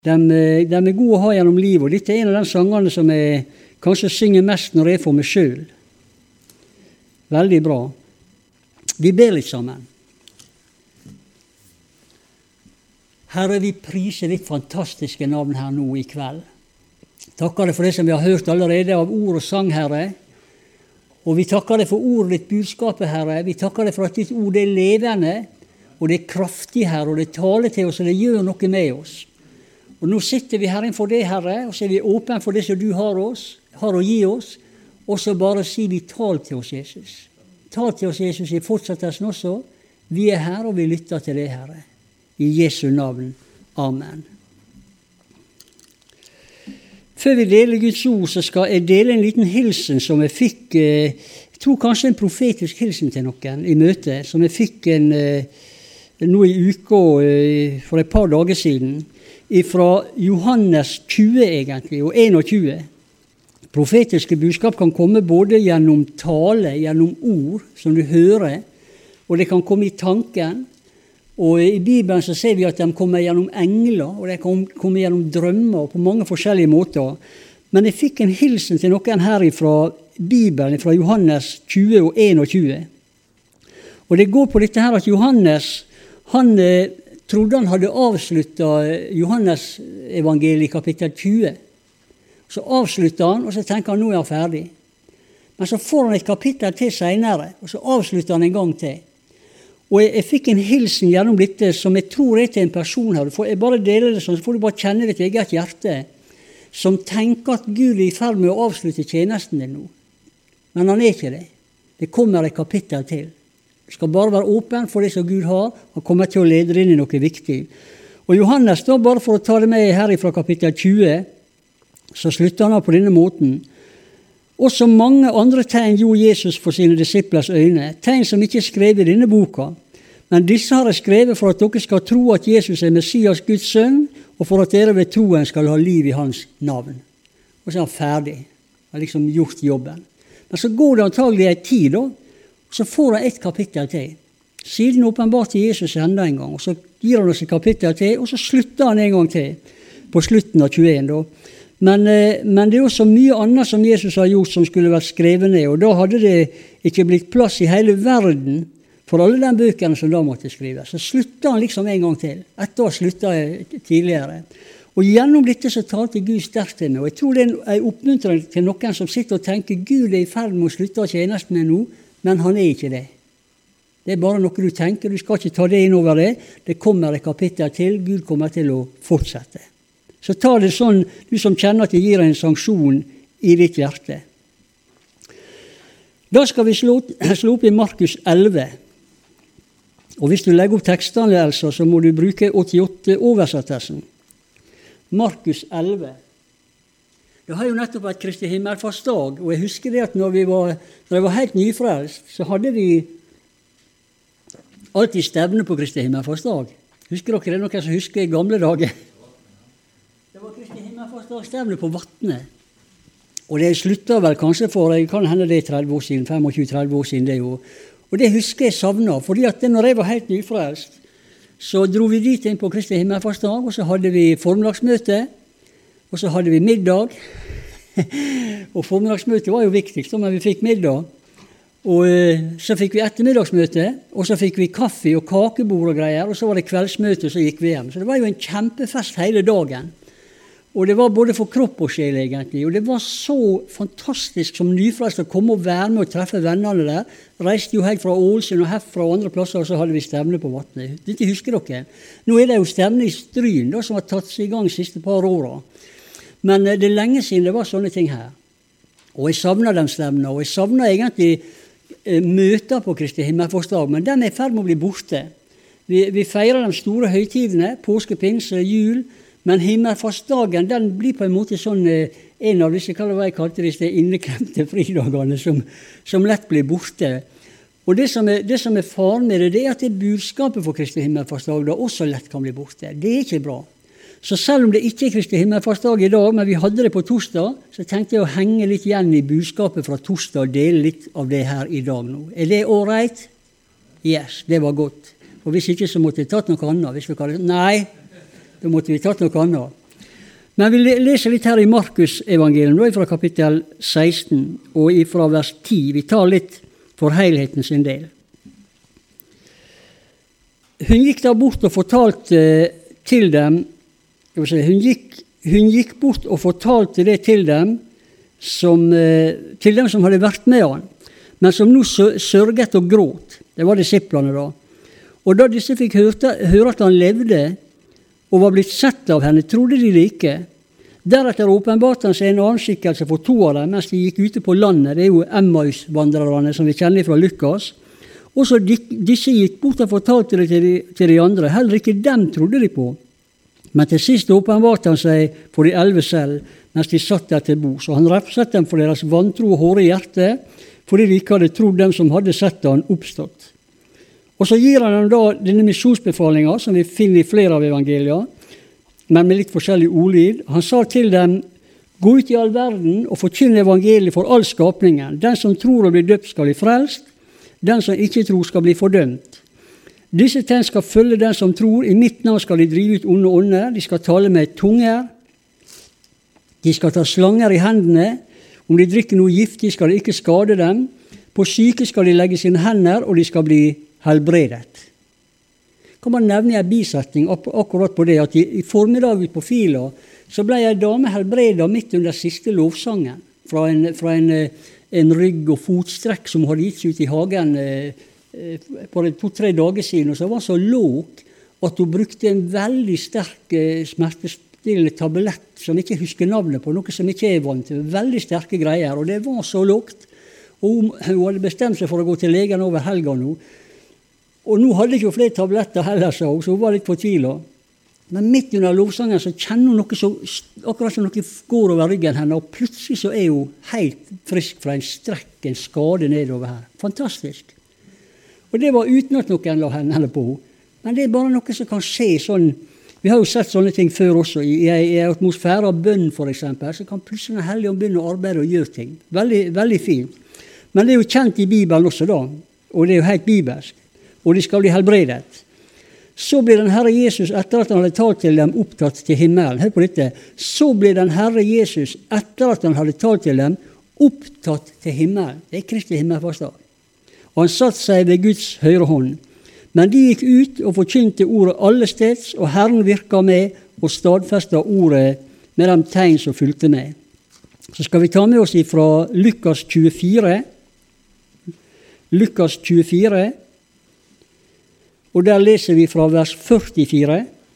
De er gode å ha gjennom livet, og dette er en av de sangene som jeg kanskje synger mest når jeg er for meg selv. Veldig bra. Vi ber litt sammen. Herre, vi priser ditt fantastiske navn her nå i kveld. Takker deg for det som vi har hørt allerede av ord og sang, Herre. Og vi takker deg for ordet ditt budskapet, Herre. Vi takker deg for at ditt ord er levende, og det er kraftig, Herre, og det taler til oss, og det gjør noe med oss. Og nå sitter vi her innenfor det, Herre, og så er vi åpne for det som du har å gi oss, og så bare sier vi tal til oss, Jesus. Tal til oss, Jesus, i fortsettelsen også. Vi er her, og vi lytter til det, Herre. I Jesu navn. Amen. Før vi deler Guds ord, så skal jeg dele en liten hilsen som jeg fikk, jeg tror kanskje en profetisk hilsen til noen i møte, som jeg fikk nå i uka for et par dager siden, fra Johannes 20 egentlig, og 21. Profetiske budskap kan komme både gjennom tale, gjennom ord som du hører, og det kan komme i tanken. Og i Bibelen så ser vi at de kommer gjennom engler, og de kan komme gjennom drømmer på mange forskjellige måter. Men jeg fikk en hilsen til noen her fra Bibelen, fra Johannes 20 og 21. Og det går på dette her at Johannes, han trodde han hadde avsluttet Johannes evangeliet i kapittel 20. Så avslutter han, og så tenker han, nå er han ferdig. Men så får han et kapittel til senere, og så avslutter han en gang til. Og jeg fikk en hilsen gjennom dette som jeg tror er til en person her. Jeg bare deler det sånn, så får du bare kjenne ditt eget hjerte, som tenker at Gud er i ferd med å avslutte tjenesten din nå. Men han er ikke det. Det kommer et kapittel til. Du skal bare være åpen for det som Gud har, og kommer til å lede inn i noe viktig. Og Johannes, da bare for å ta det med her fra kapittel 20, så slutter han på denne måten. Også mange andre tegn gjorde Jesus for sine disiplers øyne, tegn som ikke er skrevet i denne boka. Men disse har jeg skrevet for at dere skal tro at Jesus er Messias, Guds sønn, og for at dere ved troen skal ha liv i hans navn. Og så er han ferdig. Han har liksom gjort jobben. Men så går det antagelig en tid da, så får han et kapittel til. Siden åpenbart til Jesus enda en gang, og så gir han oss et kapittel til, og så slutter han en gang til, på slutten av 21 da. Men det er også mye annet som Jesus har gjort som skulle vært skrevet ned, og da hadde det ikke blitt plass i hele verden for alle de bøkene som da måtte skrives. Så slutter han liksom en gang til. Etter å slutte tidligere. Og gjennom dette så talte Gud sterkt til meg, og jeg tror det er en oppmuntring til noen som sitter og tenker Gud er i ferd med å slutte av tjenesten med nå, men han er ikke det. Det er bare noe du tenker, du skal ikke ta det inn over det. Det kommer et kapittel til, Gud kommer til å fortsette. Så ta det sånn, du som kjenner at det gir en sanksjon i ditt hjerte. Da skal vi slå opp i Markus 11. Og hvis du legger opp tekstene, så må du bruke 88-oversettelsen. Markus 11. Det har jo nettopp vært Kristi himmelfartsdag, og jeg husker det at når jeg var helt nyfrelst, så hadde vi alltid stevne på Kristi himmelfartsdag. Husker dere det? Noen som husker i gamle dager? Det var Kristi himmelfartsdag stevne på Vatne. Og det slutta vel kanskje for, jeg kan hende det 30 år siden, 25-30 år siden det jo. Og det husker jeg savnet, fordi at når jeg var helt nyfrelst, så dro vi dit inn på Kristi himmelfartsdag, og så hadde vi formiddagsmøte, og så hadde vi middag. Og formiddagsmøtet var jo viktigst, men vi fikk middag. Og så fikk vi ettermiddagsmøte, og så fikk vi kaffe og kakebord og greier, og så var det kveldsmøte, og så gikk vi hjem. Så det var jo en kjempefest hele dagen. Og det var både for kropp og sjel egentlig, og det var så fantastisk som nyfrelst å komme og være med og treffe vennene der. Reiste jo helt fra Ålesund og herfra og andre plasser, og så hadde vi stevne på Vatne. Dette husker dere. Nå er det jo stevne i Stryn da, som har tatt seg i gang de siste par årene. Men det er lenge siden det var sånne ting her. Og jeg savner den stevnen, og jeg savner egentlig møter på Kristi himmelfartsdag, men den er i ferd med å bli borte. Vi feirer de store høytidene, påske, pinse, jul, men himmelfartsdagen, den blir på en måte sånn en av disse, hva jeg kalte disse inneklemte fridagene som lett blir borte. Og det som er faren med det er at det budskapet for Kristi himmelfartsdag da også lett kan bli borte. Det er ikke bra. Så selv om det ikke er Kristi himmelfartsdag i dag, men vi hadde det på torsdag, så tenkte jeg å henge litt igjen i budskapet fra torsdag og dele litt av det her i dag nå. Er det all right? Yes, det var godt. Og hvis ikke så måtte jeg tatt noe annet. Hvis vi kaller det, nei, da måtte vi tatt noe annet. Men vi leser litt her i Markus evangelium, fra kapittel 16 og fra vers 10. Vi tar litt for helheten sin del. Hun gikk da bort og fortalte til dem, hun gikk bort og fortalte det til dem som hadde vært med han, men som nå sørget og gråt. Det var disiplene da. Og da disse fikk høre at han levde og var blitt sett av henne, trodde de det ikke. Deretter åpenbarte han seg en annen skikkelse for 2 av dem, mens de gikk ute på landet. Det jo Emmaus-vandrerne som vi kjenner fra Lukas. Og så disse gikk bort og fortalte det til de andre. Heller ikke dem trodde de på. Men til sist åpenbarte han seg for de 11 selv, mens de satt der til bords. Og han refset dem for deres vantro og hårde hjerte, fordi de ikke hadde trodd dem som hadde sett han oppstått. Og så gir han dem da denne missionsbefalingen, som vi finner i flere av evangelier, men med litt forskjellig ordlyd. Han sa til dem, gå ut i all verden og forkynne evangeliet for all skapningen. Den som tror og blir døpt skal bli frelst, den som ikke tror skal bli fordømt. Disse tegn skal følge den som tror, i mitt navn skal de drive ut onde ånder, de skal tale med tunger, de skal ta slanger i hendene, om de drikker noe giftig skal det ikke skade dem, på syke skal de legge sine hender, og de skal bli helbredet. Kan man nevne en bisetning akkurat på det, at i formiddag ut på Fila, så ble en dame helbredet midt under siste lovsangen, fra en rygg- og fotstrekk som hadde gitt seg ut i hagen på 2-3 dager siden, og så var så låg at hun brukte en veldig sterk smertestillende tablett, som ikke husker navnet på, noe som ikke vant til, veldig sterke greier, og det var så lågt, og hun hadde bestemt seg for å gå til legen over helga nå, og nå hadde ikke flere tabletter heller, så hun var litt fortvilet. Men midt under lovsangen så kjenner hun noe så, akkurat som noe går over ryggen henne, og plutselig så hun helt frisk fra en strekk, en skade nedover her. Fantastisk. Og det var uten at noen la henne på. Men det bare noe som kan skje sånn. Vi har jo sett sånne ting før også. I atmosfære av bønn for eksempel, så kan plutselig den hellige ånd begynne å arbeide og gjøre ting. Veldig, veldig fint. Men det jo kjent i Bibelen også da, og det jo helt bibelsk. Og de skal bli helbredet. Så ble den Herre Jesus, etter at han hadde talt til dem, opptatt til himmelen. Hør på dette. Så ble den Herre Jesus, etter at han hadde talt til dem, opptatt til himmelen. Det Kristi himmelfartsdag. Og han satt seg ved Guds høyre hånd. Men de gikk ut og forkynte ordet alle steds, og Herren virka med og stadfesta ordet med de tegn som fulgte med. Så skal vi ta med oss ifra Lukas 24. Lukas 24. Og der leser vi fra vers 44.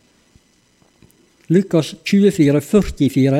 Lukas 24, 44.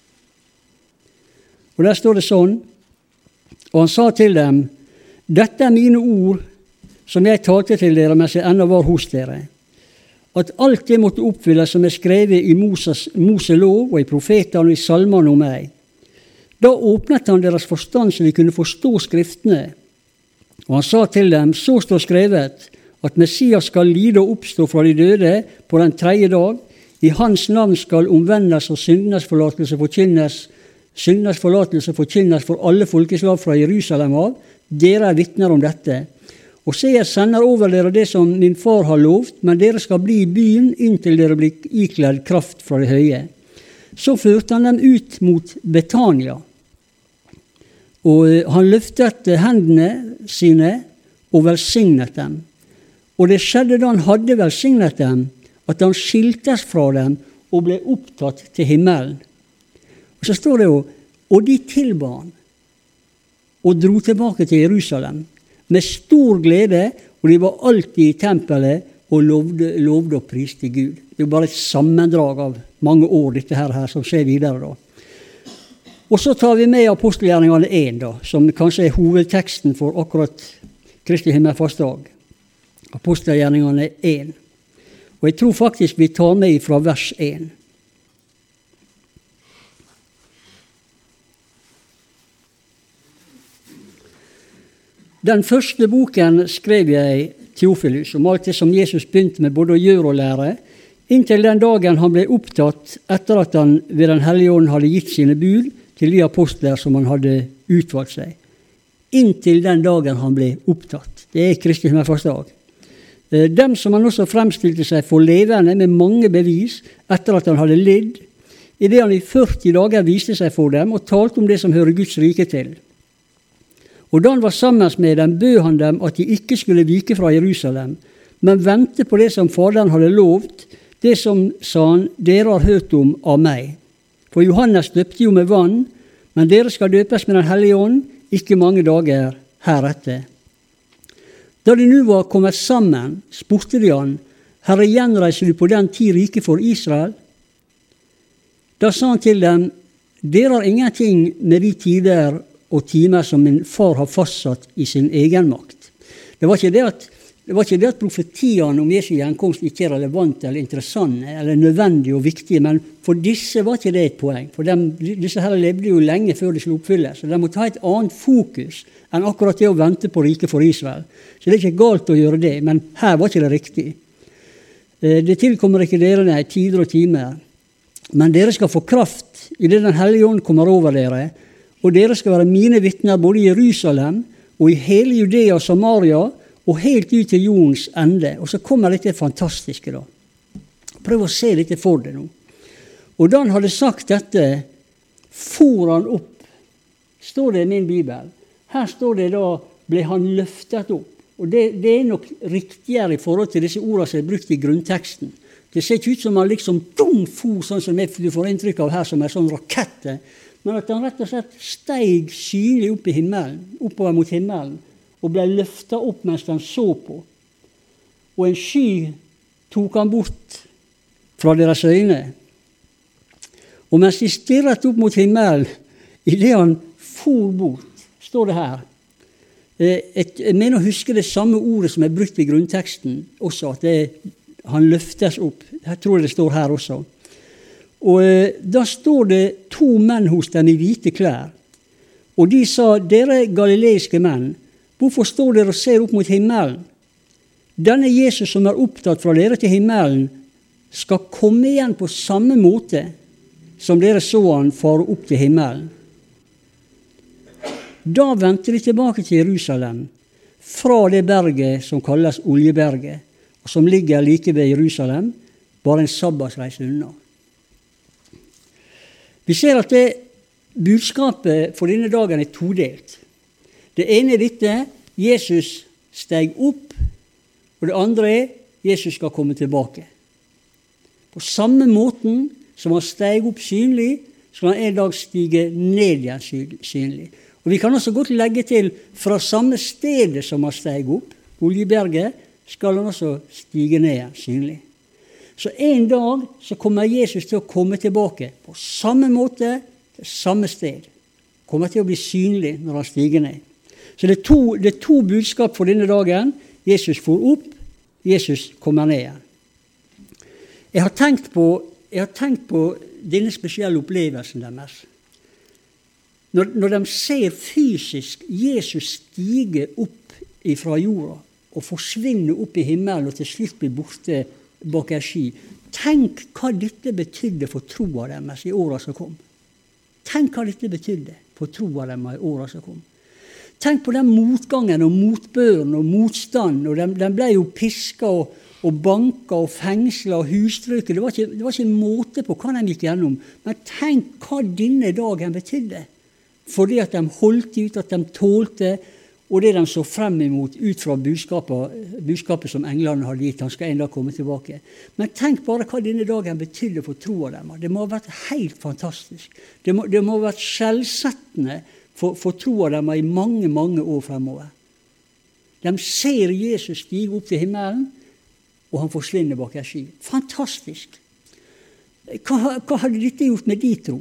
Og der står det sånn, og han sa til dem, dette mine ord som jeg talte til dere mens jeg ennå var hos dere, at alt det måtte oppfylles som skrevet i Moses lov og i profetene og i salmene om meg. Da åpnet han deres forstand så de kunne forstå skriftene. Og han sa til dem, så står skrevet, at Messias skal lide og oppstå fra de døde på den 3. dag. I hans navn skal omvendes og syndenes forlatelse forkynnes for alle folkeslag fra Jerusalem av. Dere vitner om dette. Og se, jeg sender over dere det som min far har lovt, men dere skal bli i byen inntil dere blir ikledd kraft fra det høye. Så førte han dem ut mot Betania. Og han løftet hendene sine og velsignet dem. Og det skjedde da han hadde velsignet dem, at han skiltes fra dem og ble opptatt til himmelen. Og så står det jo, og de tilba han, og dro tilbake til Jerusalem, med stor glede, og de var alltid i tempelet, og lovde og priste Gud. Det er jo bare et sammendrag av mange år, dette her som skjer videre da. Og så tar vi med apostelgjerningene 1 da, som kanskje er hovedteksten for akkurat Kristi himmelfartsdag. Apostelgjerningene 1. Og jeg tror faktisk vi tar med fra vers 1. Den første boken skrev jeg Teofilus om alt det som Jesus begynte med både å gjøre og lære, inntil den dagen han ble opptatt etter at han ved den hellige ånd hadde gitt sine bud til de apostler som han hadde utvalgt seg. Inntil den dagen han ble opptatt. Det er Kristi himmelfartsdag. Dem som han også fremstilte seg for levende med mange bevis etter at han hadde lidd, i det han i 40 dager viste seg for dem og talte om det som hører Guds rike til. Og da han var sammen med dem, bød han dem at de ikke skulle vike fra Jerusalem, men vente på det som Faderen hadde lovt, det som, sa han, dere har hørt om av meg. For Johannes døpte jo med vann, men dere skal døpes med den hellige ånd, ikke mange dager heretter. Da de nå var kommet sammen, spurte de han, Herre, gjenreiser du på den tid rike for Israel? Da sa han til dem, dere har ingenting med de tider og timer som min far har fastsatt i sin egen makt. Det var ikke det at profetiene om Jesu gjenkomst ikke er relevante eller interessante eller nødvendige og viktige, men for disse var ikke det et poeng. For disse her levde jo lenge før de skulle oppfylles, så de måtte ha et annet fokus enn akkurat det å vente på riket for Israel. Så det er ikke galt å gjøre det, men her var ikke det riktig. Det tilkommer ikke dere nei, tider og timer, men dere skal få kraft i det den hellige ånd kommer over dere, og dere skal være mine vitner både i Jerusalem og i hele Judea og Samaria, og helt ut til jordens ende. Og så kommer dette fantastiske da. Prøv å se dette for deg nå. Og da han hadde sagt dette, for han opp. Står det i min bibel. Her står det da, ble han løftet opp. Og det er nok riktigere i forhold til disse ordene som er brukt i grunnteksten. Det ser ikke ut som han liksom for, sånn som du får inntrykk av her, som er sånn rakette. Men at han rett og slett steg synlig opp i himmelen, oppover mot himmelen, og ble løftet opp mens han så på. Og en sky tok han bort fra deres øyne. Og mens de stirret opp mot himmelen, i det han for bort, står det her. Jeg mener å huske det samme ordet som er brukt i grunnteksten også, at han løftes opp. Jeg tror det står her også. Og da står det 2 menn hos dem i hvite klær. Og de sa, dere galileiske menn, hvorfor står dere og ser opp mot himmelen? Denne Jesus som er opptatt fra dere til himmelen, skal komme igjen på samme måte som dere så han fare opp til himmelen. Da vendte de tilbake til Jerusalem, fra det berget som kalles Oljeberget, og som ligger like ved Jerusalem, bare en sabbatsreise unna. Vi ser at det budskapet for denne dagen er todelt. Det ene er dette, Jesus steg opp, og det andre er, Jesus skal komme tilbake. På samme måten som han steg opp synlig, skal han en dag stige ned igjen synlig. Og vi kan også godt legge til, fra samme stedet som han steg opp, Oljeberget, skal han også stige ned igjen synlig. Så en dag så kommer Jesus til å komme tilbake, på samme måte, til samme sted. Kommer til å bli synlig når han stiger ned. Så det er to budskap for denne dagen. Jesus for opp, Jesus kommer ned igjen. Jeg har tenkt på denne spesielle opplevelsen deres. Når de ser fysisk Jesus stige opp fra jorda og forsvinne opp i himmelen og til slutt bli borte bak en sky, tenk hva dette betydde for troa deres i årene som kom. Tenk hva dette betydde for troa deres i årene som kom. Tenk på den motgangen og motbøren og motstand, og de ble jo pisket og banket og fengslet og husstrøket. Det var ikke måte på hva de gikk gjennom, men tenk hva denne dagen betydde. Fordi at de holdt ut, at de tålte, og det de så frem imot ut fra budskapet som englene hadde gitt, han skal en dag komme tilbake. Men tenk bare hva denne dagen betydde for troa deres. Det må ha vært helt fantastisk. Det må ha vært skjellsettende for troa deres i mange, mange år fremover. De ser Jesus stige opp til himmelen, og han forsvinner bak en sky. Fantastisk! Hva hadde dette gjort med de tro?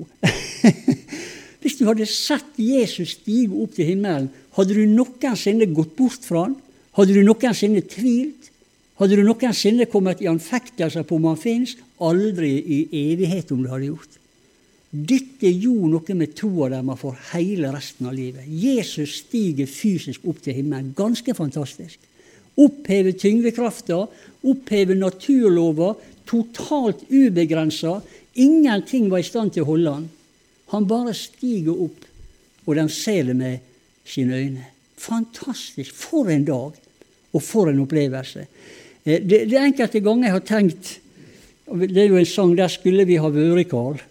Hvis du hadde sett Jesus stige opp til himmelen, hadde du noensinne gått bort fra han? Hadde du noensinne tvilt? Hadde du noensinne kommet i anfektelser på om han finnes? Aldri i evighet om du hadde gjort. Dette gjorde noe med troa deres for hele resten av livet. Jesus stiger fysisk opp til himmelen. Ganske fantastisk. Oppheve tyngdekrafta, oppheve naturlover, totalt ubegrenset. Ingenting var i stand til å holde han. Han bare stiger opp, og de ser det med sine øyne. Fantastisk. For en dag, og for en opplevelse. Det enkelte ganger jeg har tenkt, det er jo en sang, der skulle vi ha vært, Karl.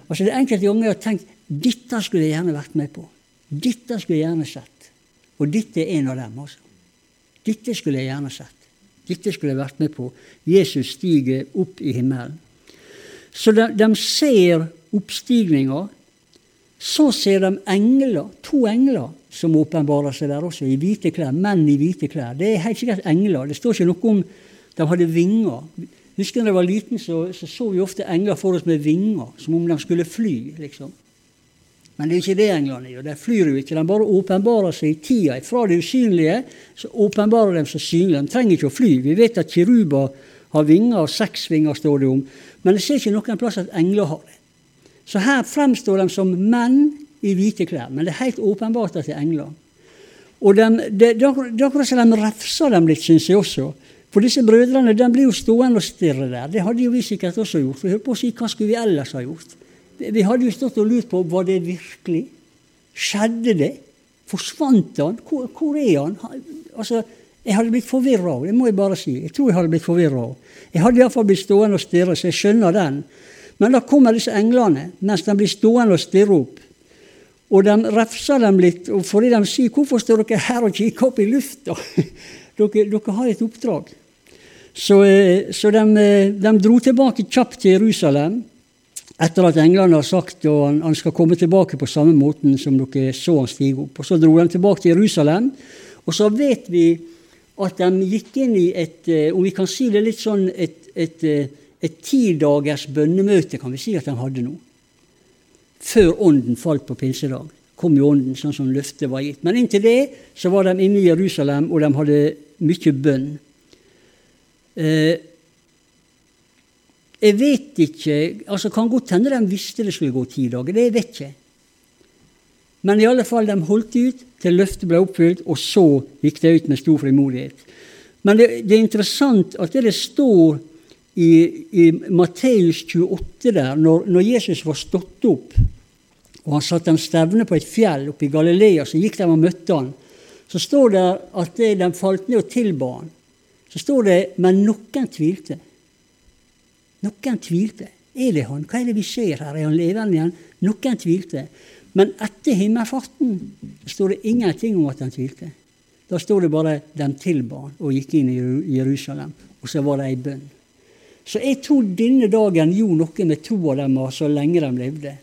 Altså det enkelte ganger jeg har tenkt, dette skulle jeg gjerne vært med på. Dette skulle jeg gjerne sett. Og dette en av dem, altså. Dette skulle jeg gjerne sett. Dette skulle jeg vært med på. Jesus stiger opp i himmelen. Så de ser oppstigninger. Så ser de engler, 2 engler, som åpenbarer seg der også, i hvite klær, menn i hvite klær. Det helt sikkert engler. Det står ikke noe om de hadde vinger. Husker når jeg var liten, så vi ofte engler for oss med vinger, som om de skulle fly, liksom. Men det er ikke det englene gjør. De flyr jo ikke, de bare åpenbarer seg i tida. Fra det usynlige, så åpenbarer de seg synlig. De trenger ikke å fly. Vi vet at kiruber har vinger, og 6 vinger står det om. Men det ser ikke noen plass at engler har det. Så her fremstår de som menn i hvite klær, men det er helt åpenbart at det er engler. Og det er akkurat som de refser dem litt, synes jeg også. For disse brødrene, de blir jo stående og stirre der. Det hadde jo vi sikkert også gjort. Vi hørte på å si, hva skulle vi ellers ha gjort? Vi hadde jo stått og lurt på, var det virkelig? Skjedde det? Forsvant han? Hvor er han? Altså, jeg hadde blitt forvirret av, det må jeg bare si. Jeg tror jeg hadde blitt forvirret av. Jeg hadde i hvert fall blitt stående og stirre, så jeg skjønner den. Men da kommer disse englene, mens de blir stående og stirre opp. Og de refser dem litt, og fordi de sier, hvorfor står dere her og kikker opp i lufta? Dere har et oppdrag. Så de dro tilbake kjapt til Jerusalem, etter at englene har sagt at han skal komme tilbake på samme måten som dere så han stige opp. Og så dro de tilbake til Jerusalem, og så vet vi at de gikk inn i om vi kan si det litt sånn, et 10 dagers bønnemøte, kan vi si at de hadde nå. Før ånden falt på pinsedag. Kom jo ånden, sånn som løftet var gitt. Men inntil det, så var de inne i Jerusalem, og de hadde mye bønn. Jeg vet ikke, altså kan godt hende de visste det skulle gå 10 dager, det vet jeg. Men i alle fall, de holdt ut til løftet ble oppfylt, og så gikk det ut med stor frimodighet. Men det er interessant at det står i Matteus 28 der, når Jesus var stått opp, og han satt en stevne på et fjell oppe i Galilea, så gikk de og møtte han. Så står det at de falt ned og tilba han. Så står det, men noen tvilte. Noen tvilte. Er det han? Hva er det vi ser her? Er han levende igjen? Noen tvilte. Men etter himmelfarten står det ingenting om at han tvilte. Da står det bare, de tilba han og gikk inn i Jerusalem, og så var det en bønn. Så jeg tror denne dagen gjorde noe med troen deres så lenge de levde.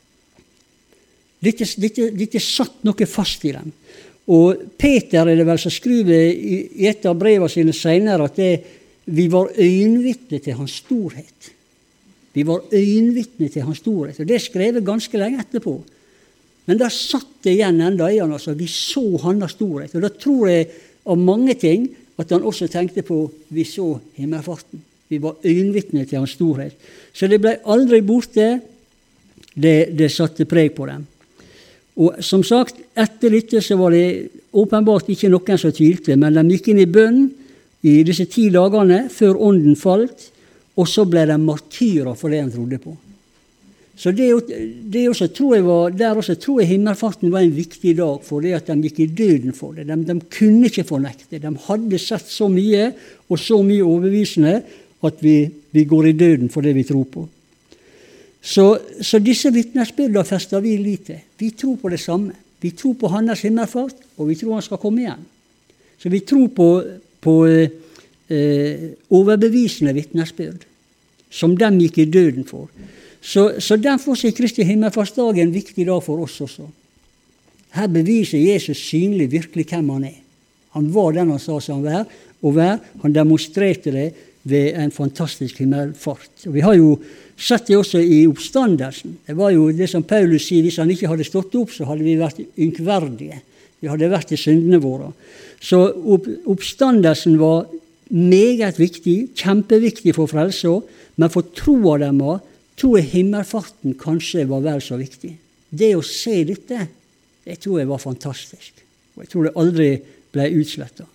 Dette satt noe fast i dem. Og Peter er det vel som skriver i et av brevene sine senere at vi var øyenvitne til hans storhet. Vi var øyenvitne til hans storhet. Og det skrev ganske lenge etterpå. Men da satt det igjen enda i han, altså. Vi så hans storhet. Og da tror jeg av mange ting at han også tenkte på vi så himmelfarten. Vi var øyenvitne til hans storhet. Så det ble aldri borte. Det satte preg på dem. Og som sagt, etter dette så var det åpenbart ikke noen som tvilte, men de gikk inn i bønn i disse 10 dagene før ånden falt, og så ble de martyrer for det de trodde på. Så det også tror jeg himmelfarten var en viktig dag for det at de gikk i døden for det. De kunne ikke fornekte. De hadde sett så mye og så mye overbevisende at vi går i døden for det vi tror på. Så disse vitnesbyrdene fester vi lite. Vi tror på det samme. Vi tror på hans himmelfart, og vi tror han skal komme igjen. Så vi tror på overbevisende vitnesbyrd, som de gikk i døden for. Så derfor er Kristi himmelfartsdag en viktig dag for oss også. Her beviser Jesus synlig virkelig hvem han er. Han var den han sa seg han var, han demonstrerte det ved en fantastisk himmelfart. Og vi har jo sett det også i oppstandelsen. Det var jo det som Paulus sier, hvis han ikke hadde stått opp, så hadde vi vært ynkverdige. Vi hadde vært i syndene våre. Så oppstandelsen var meget viktig, kjempeviktig for frelse, men for troa dem tror jeg himmelfarten kanskje var vel så viktig. Det å se dette, det tror jeg var fantastisk. Og jeg tror det aldri ble utslettet.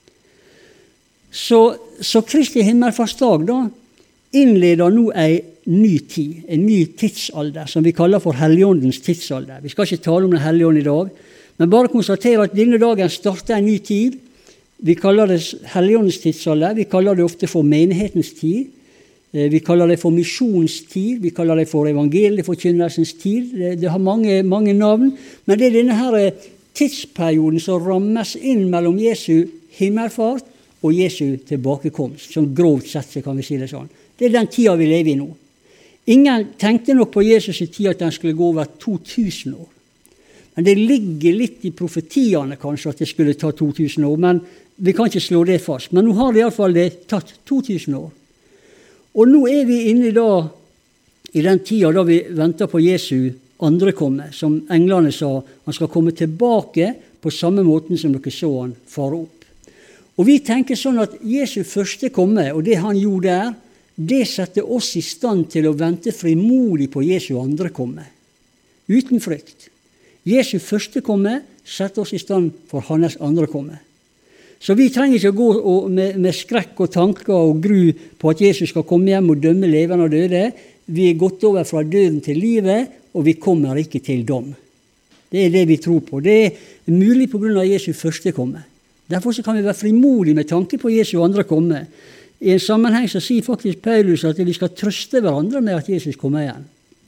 Så Kristi himmelfartsdag da innleder nå en ny tid, en ny tidsalder, som vi kaller for Helligåndens tidsalder. Vi skal ikke tale om den Helligånd i dag, men bare konstatere at denne dagen starter en ny tid. Vi kaller det Helligåndens tidsalder, vi kaller det ofte for menighetens tid. Vi kaller det for misjonstid, vi kaller det for evangelieforkynnelsens tid. Det har mange, mange navn, men det er denne her tidsperioden som rammes inn mellom Jesu himmelfart og Jesu tilbakekomst. Som grovt sett så kan vi si det sånn. Det er den tida vi lever i nå. Ingen tenkte nok på Jesus i tid at den skulle gå over 2000 år. Men det ligger litt i profetiene kanskje at det skulle ta 2000 år, men vi kan ikke slå det fast. Men nå har det i alle fall det tatt 2000 år. Og nå er vi inne i den tida da vi venter på Jesu andre komme, som englene sa, han skal komme tilbake på samme måten som dere så han fare opp. Og vi tenker sånn at Jesu første komme, og det han gjorde der, det setter oss i stand til å vente frimodig på Jesu andre komme. Uten frykt. Jesu første komme setter oss i stand for hans andre komme. Så vi trenger ikke å gå med skrekk og tanker og gru på at Jesus skal komme hjem og dømme levende og døde. Vi er gått over fra døden til livet, og vi kommer ikke til dom. Det er det vi tror på. Det er mulig på grunn av Jesu første komme. Derfor så kan vi være frimodige med tanke på Jesu andre komme. I en sammenheng så sier faktisk Paulus at vi skal trøste hverandre med at Jesus kommer igjen.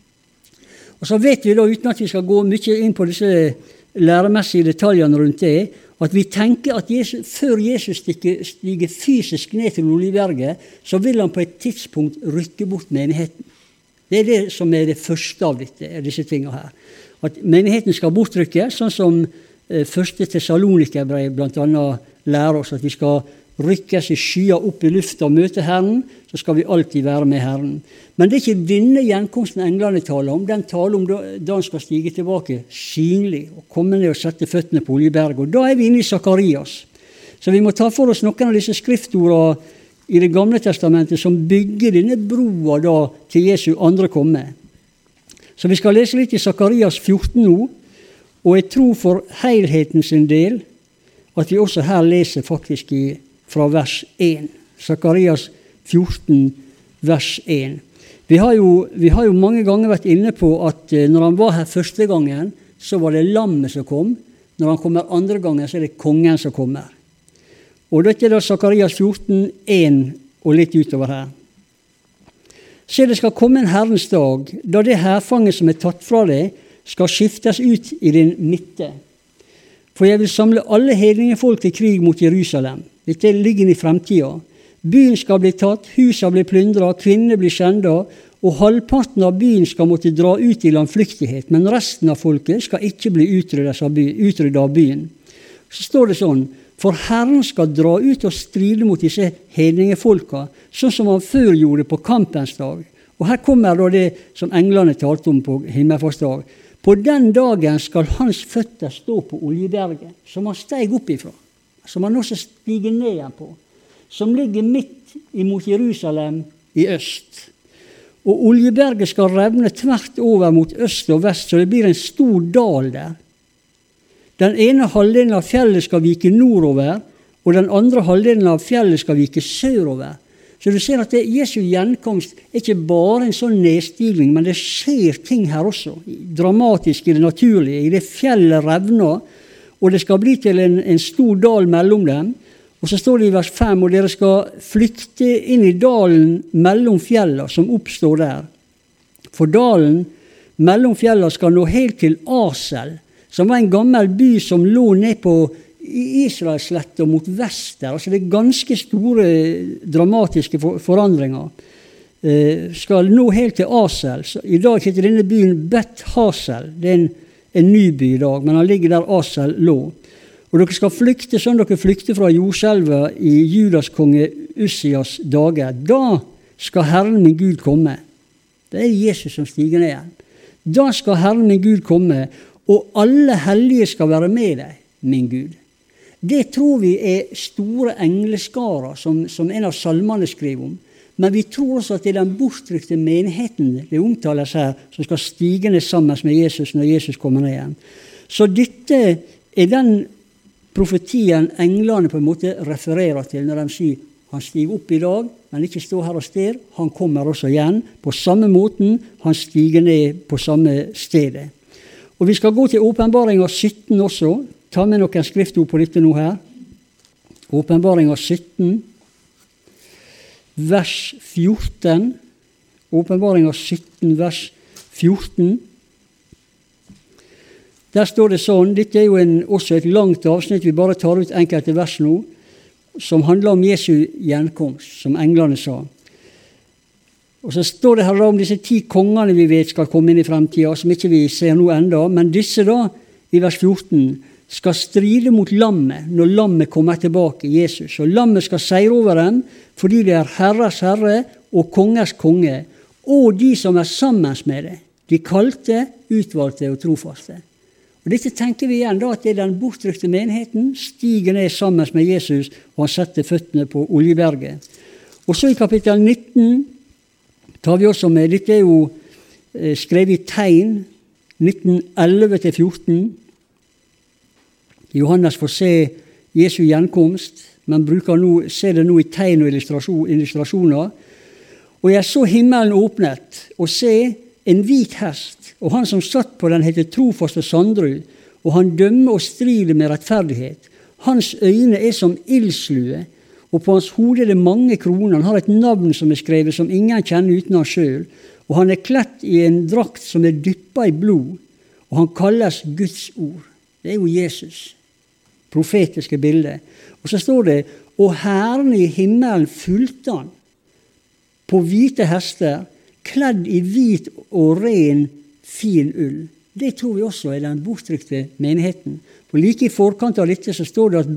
Og så vet vi da, uten at vi skal gå mye inn på disse læremessige detaljene rundt det, at vi tenker at før Jesus stiger fysisk ned til Oljeberget, så vil han på et tidspunkt rykke bort menigheten. Det er det som er det første av disse tingene her. At menigheten skal bortrykke, sånn som første Tessalonikerbrev blant annet lærer oss, at vi skal rykkes i skyer opp i lufta og møte Herren, så skal vi alltid være med Herren. Men det er ikke denne gjenkomsten englene taler om. Den taler om da han skal stige tilbake synlig og komme ned og sette føttene på Oljeberget. Og da er vi inne i Sakarias. Så vi må ta for oss noen av disse skriftordene i Det gamle testamentet som bygger denne broa da til Jesu andre komme. Så vi skal lese litt i Sakarias 14 nå, og jeg tror for helheten sin del at vi også her leser faktisk fra vers 1. Sakarias 14, vers 1. Vi har jo mange ganger vært inne på at når han var her første gangen, så var det lammet som kom. Når han kommer andre gangen, så er det kongen som kommer. Og dette er da Sakarias 14, 1 og litt utover her. Se, det skal komme en Herrens dag, da det herfanget som er tatt fra deg, skal skiftes ut i din midte. For jeg vil samle alle hedningefolk til krig mot Jerusalem. Dette ligger i fremtiden. Byen skal bli tatt, huset blir plyndret, kvinner blir skjendet, og halvparten av byen skal måtte dra ut i landflyktighet, men resten av folket skal ikke bli utryddet av byen. Så står det sånn, for Herren skal dra ut og stride mot disse hedningefolka, sånn som han før gjorde på kampens dag. Og her kommer da det som englene talte om på himmelfartsdag. På den dagen skal hans føtter stå på Oljeberget, som han steg opp ifra, som han også stiger ned igjen på, som ligger midt imot Jerusalem i øst. Og Oljeberget skal revne tvert over mot øst og vest, så det blir en stor dal der. Den ene halvdelen av fjellet skal vike nordover, og den andre halvdelen av fjellet skal vike sørover. Så du ser at Jesu gjenkomst er ikke bare en sånn nedstigning, men det skjer ting her også, dramatisk i det naturlige. I det fjellet revner, og det skal bli til en stor dal mellom dem. Og så står det i vers 5, og dere skal flykte inn i dalen mellom fjellene som oppstår der. For dalen mellom fjellene skal nå helt til Asel, som var en gammel by som lå ned på Israelsletta mot vest der. Altså det er ganske store, dramatiske forandringer. Skal nå helt til Asel. Så i dag heter denne byen Bet Hasel. Det er en ny by i dag, men han ligger der Asel lå. Og dere skal flykte sånn dere flykte fra jordskjelva i Judas konge Ussias dager. Da skal Herren min Gud komme. Det er Jesus som stiger ned igjen. Da skal Herren min Gud komme, og alle hellige skal være med deg, min Gud. Det tror vi er store engleskarer, som en av salmene skriver om. Men vi tror også at det er den bortrykte menigheten det omtales her, som skal stige ned sammen med Jesus når Jesus kommer ned igjen. Så dette er den profetien englene på en måte refererer til når de sier han stiger opp i dag, men ikke står her og sted. Han kommer også igjen på samme måten. Han stiger ned på samme stedet. Og vi skal gå til Åpenbaringen 17 også. Ta med noen skriftord på dette nå her. Åpenbaringen 17. vers 14, Åpenbaringen 17, vers 14. Der står det sånn, dette jo også et langt avsnitt, vi bare tar ut enkelte vers nå, som handler om Jesu gjenkomst, som englene sa. Og så står det her om disse 10 kongene vi vet skal komme inn i fremtiden, som ikke vi ser nå enda, men disse da, i vers 14, skal stride mot lammet, når lammet kommer tilbake, Jesus. Og lammet skal seire over dem, fordi det Herres Herre og Kongers konge, og de som sammen med det, de kalte, utvalgte og trofaste. Og dette tenker vi igjen da, at det den bortrykte menigheten stiger ned sammen med Jesus, og han setter føttene på Oljeberget. Og så i kapittel 19 tar vi også med, dette jo skrevet i tegn, 19:11-14. Johannes får se Jesu gjenkomst, men ser det nå i tegn og illustrasjoner. Og jeg så himmelen åpnet, og se en hvit hest, og han som satt på den heter Trofast og Sandrud, og han dømmer og strider med rettferdighet. Hans øyne som ildslue, og på hans hode det mange kroner. Han har et navn som skrevet som ingen kjenner uten han selv, og han kledt i en drakt som dyppet i blod, og han kalles Guds ord. Det jo Jesus, profetiske bilde. Og så står det, og herren i himmelen fulgte han, på hvite hester, kledd i hvit og ren, fin ull. Det tror vi også den bortrykte menigheten. For like i forkant av dette så står det at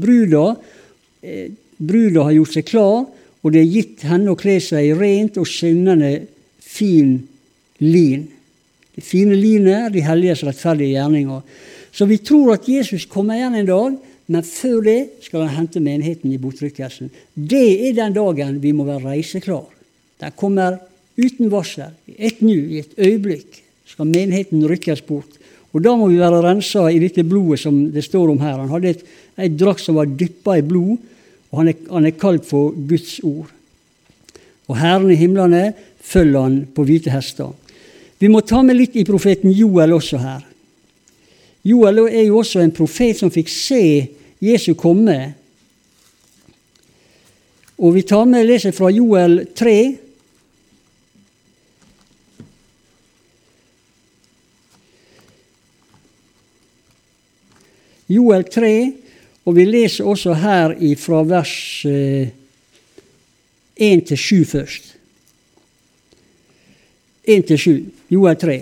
bruda har gjort seg klar, og det gitt henne å kle seg i rent og skinnende fin lin. Det fine linet de helliges rettferdige gjerninger. Så vi tror at Jesus kommer igjen en dag, men før det skal han hente menigheten i bortrykkelsen. Det den dagen vi må være reiseklar. Den kommer uten varsel, i et nu, i et øyeblikk, skal menigheten rykkes bort. Og da må vi være renset i dette blodet som det står om her. Han hadde et drakt som var dyppet i blod, og han kalt for Guds ord. Og Herren i himlene følger han på hvite hester. Vi må ta med litt i profeten Joel også her. Joel jo også en profet som fikk se Jesu komme. Og vi tar med leser fra Joel 3. Joel 3, og vi leser også her fra vers 1-7 først. 1-7, Joel 3.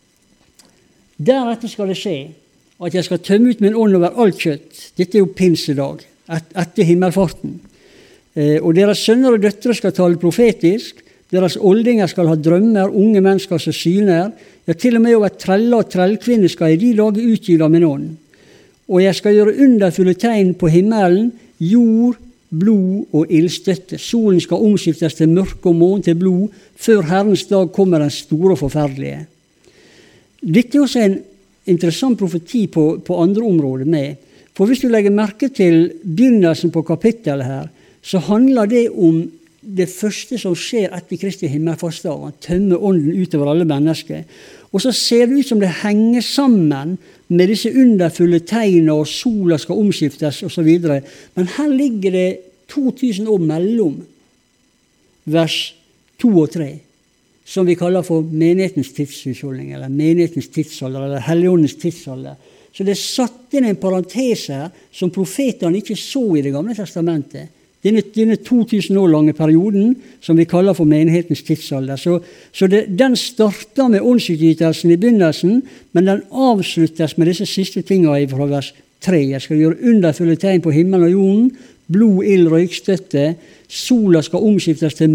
Deretter skal det skje at jeg skal tømme ut min ånd over alt kjøtt. Dette jo pinsedag, etter himmelfarten. Og deres sønner og døtre skal tale profetisk, deres oldinger skal ha drømmer, unge mennesker som syner, ja, til og med over treller og trellkvinner skal i de dager utgyte av min ånd. Og jeg skal gjøre underfulle tegn på himmelen, jord, blod og ildstøtte. Solen skal omskiftes til mørke og månen til blod, før Herrens dag kommer den store og forferdelige. Dette også en interessant profeti på andre områder med. For hvis du legger merke til begynnelsen på kapittelet her, så handler det om det første som skjer etter Kristi himmelfartsdag. Han tømmer ånden utover alle mennesker. Og så ser det ut som det henger sammen med disse underfulle tegnene, og sola skal omskiftes og så videre. Men her ligger det 2000 år mellom vers 2 og 3, som vi kaller for menighetens tidshusholdning, eller menighetens tidsalder, eller Helligåndens tidsalder. Så det satt inn en parentese som profetene ikke så i Det gamle testamentet. Denne 2000 år lange perioden som vi kaller for menighetens tidsalder. Så den starter med åndsutgytelsen i begynnelsen, men den avsluttes med disse siste tingene fra vers 3. Jeg skal gjøre underfulle tegn på himmelen og jorden, blod, ild, røykstøtte, sola skal omskiftes til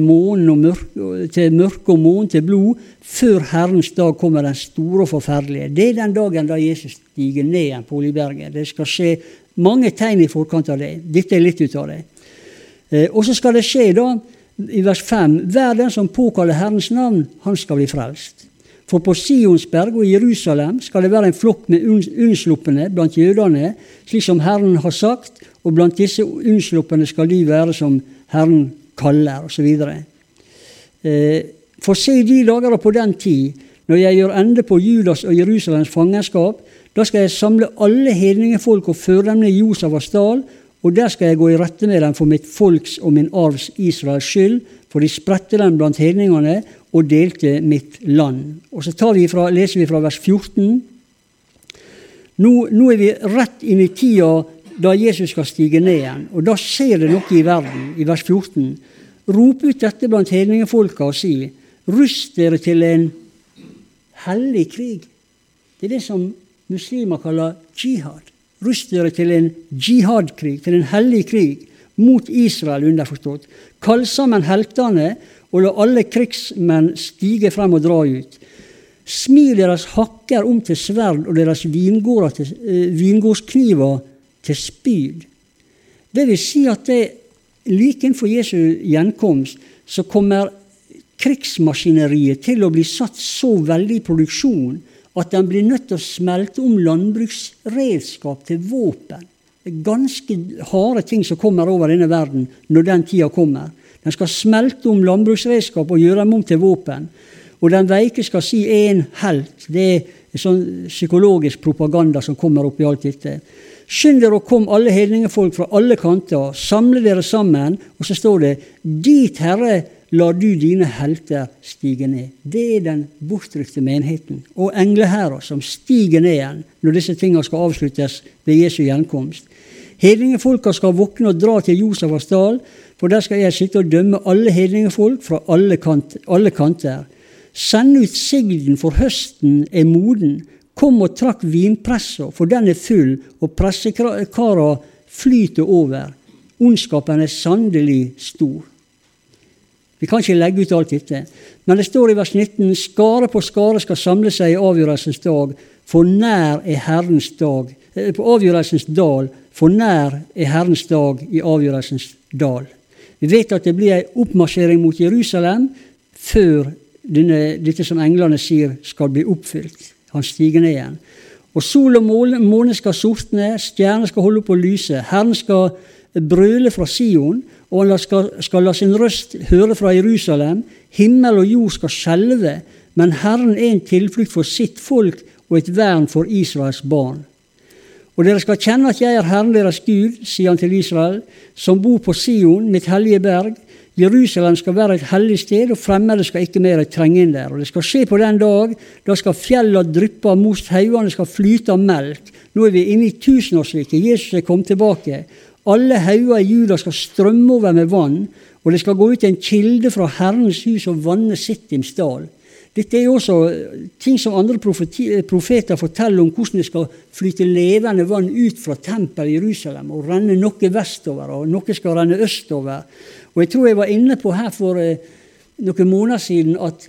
mørke og månen til blod, før Herrens dag kommer den store og forferdelige. Det den dagen da Jesus stiger ned igjen på Oljeberget. Det skal skje mange tegn i forkant av det. Dette litt ut av det. Og så skal det skje da, i vers 5, hver den som påkaller Herrens navn, han skal bli frelst. For på Sionsberg og Jerusalem skal det være en flokk med unnsluppene blant jødene, slik som Herren har sagt, og blant disse unnsluppene skal de være som Herren kaller, og så videre. For se de dager på den tid, når jeg gjør ende på Judas og Jerusalems fangenskap, da skal jeg samle alle hedningefolk og føre dem ned i Josafas dal, og der skal jeg gå i rette med dem for mitt folks og min arvs Israels skyld, for de spredte dem blant hedningene og delte mitt land. Og så leser vi fra vers 14. Nå vi rett inn i tida da Jesus skal stige ned igjen, og da skjer det noe i verden, i vers 14. Rop ut dette blant hedningefolka og si, rust dere til en hellig krig. Det det som muslimer kaller jihad. Rust dere til en jihadkrig, til en hellig krig, mot Israel underforstått. Kall sammen heltene, og la alle krigsmenn stige frem og dra ut. Smil deres hakker om til sverd, og deres vingårdskniver til spyd. Det vil si at like innenfor Jesu gjenkomst, så kommer krigsmaskineriet til å bli satt så veldig i produksjon, at den blir nødt til å smelte om landbruksredskap til våpen. Det ganske harde ting som kommer over denne verden når den tida kommer. Den skal smelte om landbruksredskap og gjøre dem om til våpen. Og den veike skal si en helt. Det sånn psykologisk propaganda som kommer opp i alt dette. Skynd dere og kom alle hedningefolk fra alle kanter, samle dere sammen, og så står det, dit Herre, la du dine helter stige ned. Det den bortrykte menigheten, og engleherrer som stiger ned igjen, når disse tingene skal avsluttes ved Jesu gjenkomst. Hedningefolka skal våkne og dra til Josafas dal, for der skal jeg sitte og dømme alle hedningefolk fra alle kanter. Send ut sigden, for høsten moden. Kom og trakk vinpresser, for den full, og pressekara flyter over. Ondskapen sannelig stor. Vi kan ikke legge ut alt dette. Men det står i vers 19, skare på skare skal samle seg i avgjørelsens dag, for nær Herrens dag. På avgjørelsens dal, for nær Herrens dag i avgjørelsens dal. Vi vet at det blir en oppmarsjering mot Jerusalem, før dette som englene sier skal bli oppfylt. Han stiger ned igjen. Og sol og måne skal sortne, stjerner skal holde på å lyse. Herren skal brøle fra Sion, og han skal la sin røst høre fra Jerusalem. Himmel og jord skal skjelve, men Herren en tilflukt for sitt folk og et vern for Israels barn. Og dere skal kjenne at jeg Herren deres Gud, sier han til Israel, som bor på Sion, mitt hellige berg. Jerusalem skal være et hellig sted, og fremmede skal ikke mer trenge inn der. Og det skal skje på den dag, da skal fjellene dryppe av most, haugene skal flyte av melk. Nå vi inne i tusenårsriket, Jesus kommet tilbake. Alle hauger i Juda skal strømme over med vann, og det skal gå ut en kilde fra Herrens hus og vanne Sittims dal. Dette også ting som andre profeter forteller om hvordan det skal flyte levende vann ut fra tempel i Jerusalem og renne noe vestover, og noe skal renne østover. Og jeg tror jeg var inne på her for noen måneder siden at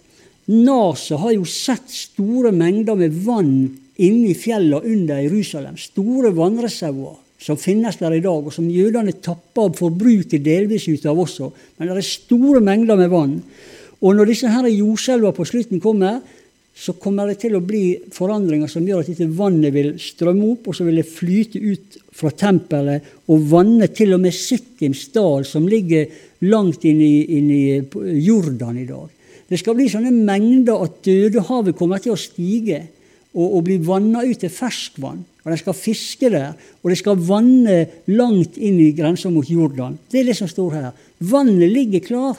NASA har jo sett store mengder med vann inne i fjellene under Jerusalem. Store vannreservoar som finnes der i dag, og som jødene tapper og forbruker delvis ut av også. Men det store mengder med vann. Og når disse her jordskjelver på slutten kommer, så kommer det til å bli forandringer som gjør at dette vannet vil strømme opp, og så vil det flyte ut fra tempelet og vanne til og med Sittims dal, som ligger langt inn i Jordan i dag. Det skal bli sånne mengder at Dødehavet kommer til å stige og bli vannet ut til ferskvann. Og de skal fiske der, og de skal vanne langt inn i grensen mot Jordan. Det det som står her. Vannet ligger klar.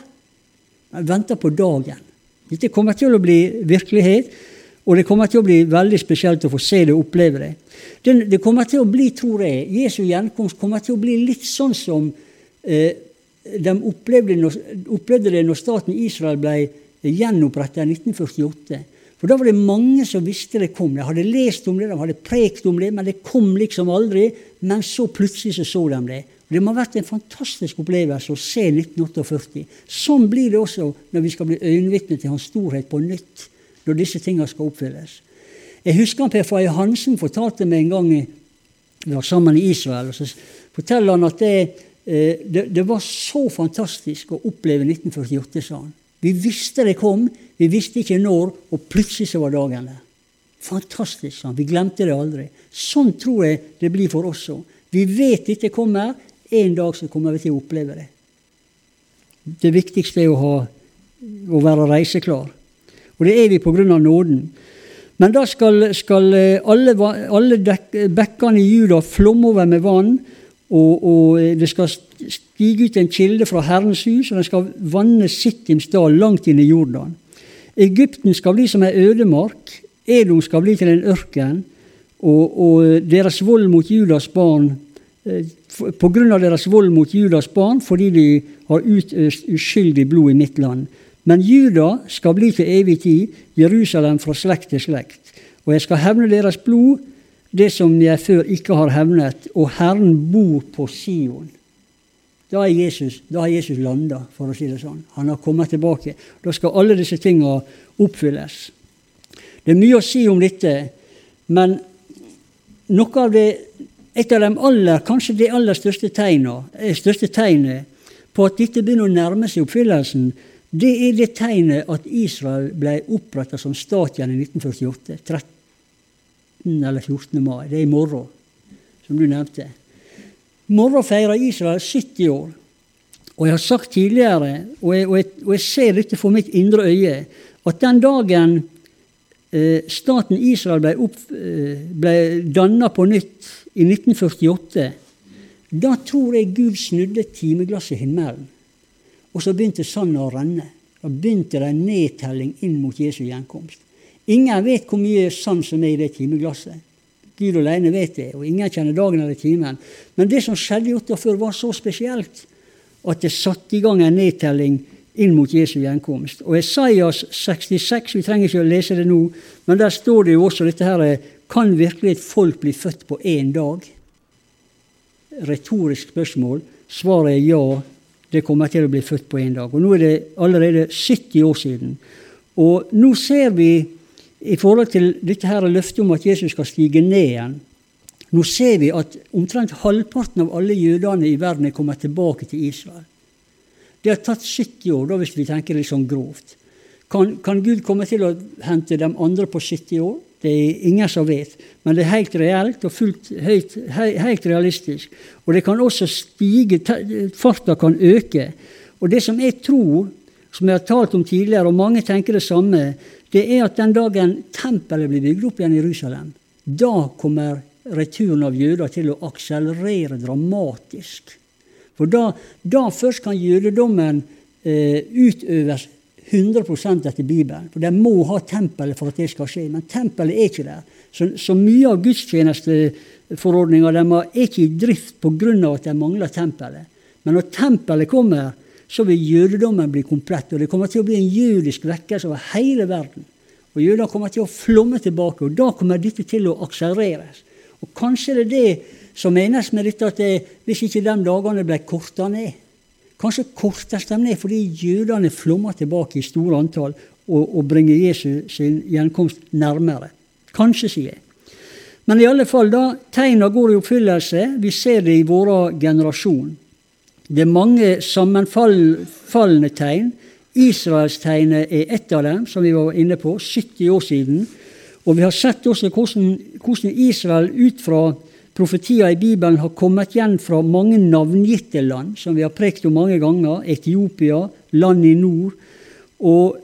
Jeg venter på dagen. Dette kommer til å bli virkelighet, og det kommer til å bli veldig spesielt å få se det og oppleve det. Det kommer til å bli, tror jeg, Jesu gjenkomst kommer til å bli litt sånn som de opplevde det når staten Israel ble gjenopprettet i 1948. For da var det mange som visste det kom. De hadde lest om det, de hadde prekt om det, men det kom liksom aldri. Men så plutselig så de det. Det må ha vært en fantastisk opplevelse å se 1948. Sånn blir det også når vi skal bli øyenvitne til hans storhet på nytt, når disse tingene skal oppfylles. Jeg husker Per Faye Hansen fortalte meg en gang vi var sammen i Israel, og så forteller han at det var så fantastisk å oppleve 1948, sa han. Vi visste det kom, vi visste ikke når, og plutselig så var dagen der. Fantastisk, sa han. Vi glemte det aldri. Sånn tror jeg det blir for oss også. Vi vet dette kommer, en dag så kommer vi til å oppleve det. Det viktigste å være reiseklar. Og det vi på grunn av nåden. Men da skal alle bekkene i Juda flomme over med vann, og det skal stige ut en kilde fra Herrens hus, og den skal vanne Sittims dal langt inn i Jordan. Egypten skal bli som en ødemark, Edom skal bli til en ørken, og deres vold mot Judas barn, på grunn av deres vold mot Judas barn, fordi de har utøst uskyldig blod i mitt land. Men Juda skal bli til evig tid, Jerusalem fra slekt til slekt. Og jeg skal hevne deres blod, det som jeg før ikke har hevnet, og Herren bor på Sion. Da har Jesus landet, for å si det sånn. Han har kommet tilbake. Da skal alle disse tingene oppfylles. Det er mye å si om dette, men noe av det, et av de kanskje det aller største tegnet på at dette begynner å nærme seg oppfyllelsen, det er det tegnet at Israel ble opprettet som stat igjen i 1948, 13 eller 14. mai. Det er i morgen, som du nevnte. I morgen feirer Israel 70 år. Og jeg har sagt tidligere, og jeg ser dette for mitt indre øye, at den dagen staten Israel ble dannet på nytt i 1948, da tror jeg Gud snudde timeglasset i himmelen. Og så begynte sandet å renne. Da begynte det en nedtelling inn mot Jesu gjenkomst. Ingen vet hvor mye sand som er i det timeglasset. Gud alene vet det, og ingen kjenner dagen eller timen. Men det som skjedde i 48 var så spesielt at det satte i gang en nedtelling inn mot Jesu gjenkomst. Og Esaias 66, vi trenger ikke å lese det nå, men der står det jo også dette her, kan virkelig et folk bli født på en dag? Retorisk spørsmål. Svaret er ja, det kommer til å bli født på en dag. Og nå er det allerede 70 år siden. Og nå ser vi, i forhold til dette her løftet om at Jesus skal stige ned igjen, nå ser vi at omtrent halvparten av alle jødene i verden er kommet tilbake til Israel. Det har tatt 70 år, da hvis vi tenker litt sånn grovt. Kan Gud komme til å hente dem andre på 70 år? Det er ingen som vet, men det er helt reelt og helt realistisk. Og det kan også stige, farta kan øke. Og det som jeg tror, som jeg har talt om tidligere, og mange tenker det samme, det er at den dagen tempelet blir bygd opp igjen i Jerusalem, da kommer returen av jøder til å akselerere dramatisk. For da først kan jødedommen utøves 100% etter Bibelen. For de må ha tempelet for at det skal skje, men tempelet er ikke der. Så mye av gudstjenesteforordninger er ikke i drift på grunn av at de mangler tempelet. Men når tempelet kommer, så vil jødedommen bli komplett, og det kommer til å bli en jødisk vekkelse over hele verden. Og jøder kommer til å flomme tilbake, og da kommer dette til å akselereres. Og kanskje det er det som menes med dette, at hvis ikke de dagene ble kortet ned, kanskje kortes de ned fordi jødene flommer tilbake i store antall og bringer Jesus sin gjenkomst nærmere. Kanskje, sier jeg. Men i alle fall, da tegner går i oppfyllelse, vi ser det i vår generasjon. Det er mange sammenfallende tegn. Israelstegnet er ett av dem, som vi var inne på, 70 år siden. Og vi har sett også hvordan Israel ut fra profetier i Bibelen har kommet igjen fra mange navngitte land, som vi har prekt om mange ganger, Etiopia, land i nord. Og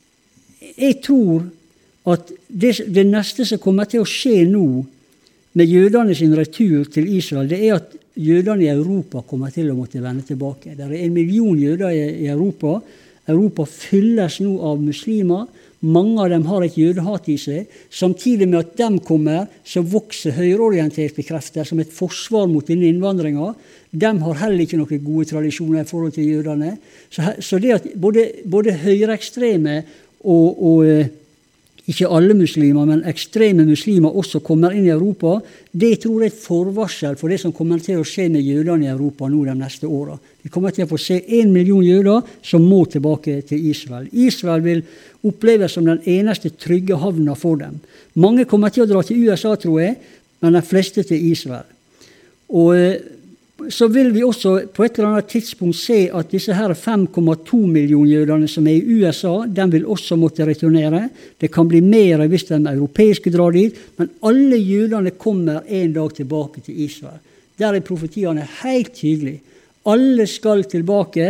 jeg tror at det neste som kommer til å skje nå med jødene sin retur til Israel, det er at jødene i Europa kommer til å måtte vende tilbake. Det er 1 million jøder i Europa. Europa fylles nå av muslimer. Mange av dem har et jødehat i seg. Samtidig med at de kommer, så vokser høyreorienterte krefter som et forsvar mot denne innvandringen. De har heller ikke noen gode tradisjoner i forhold til jødene. Så det at både høyreekstreme og ikke alle muslimer, men ekstreme muslimer også kommer inn i Europa, det tror jeg er et forvarsel for det som kommer til å skje med jødene i Europa nå de neste årene. Vi kommer til å få se 1 million jøder som må tilbake til Israel. Israel vil oppleves som den eneste trygge havna for dem. Mange kommer til å dra til USA, tror jeg, men de fleste til Israel. Og så vil vi også på et eller annet tidspunkt se at disse her 5,2 millioner jødene som er i USA, de vil også måtte returnere. Det kan bli mer hvis de europeiske drar dit, men alle jødene kommer en dag tilbake til Israel. Der er profetiene helt tydelige. Alle skal tilbake.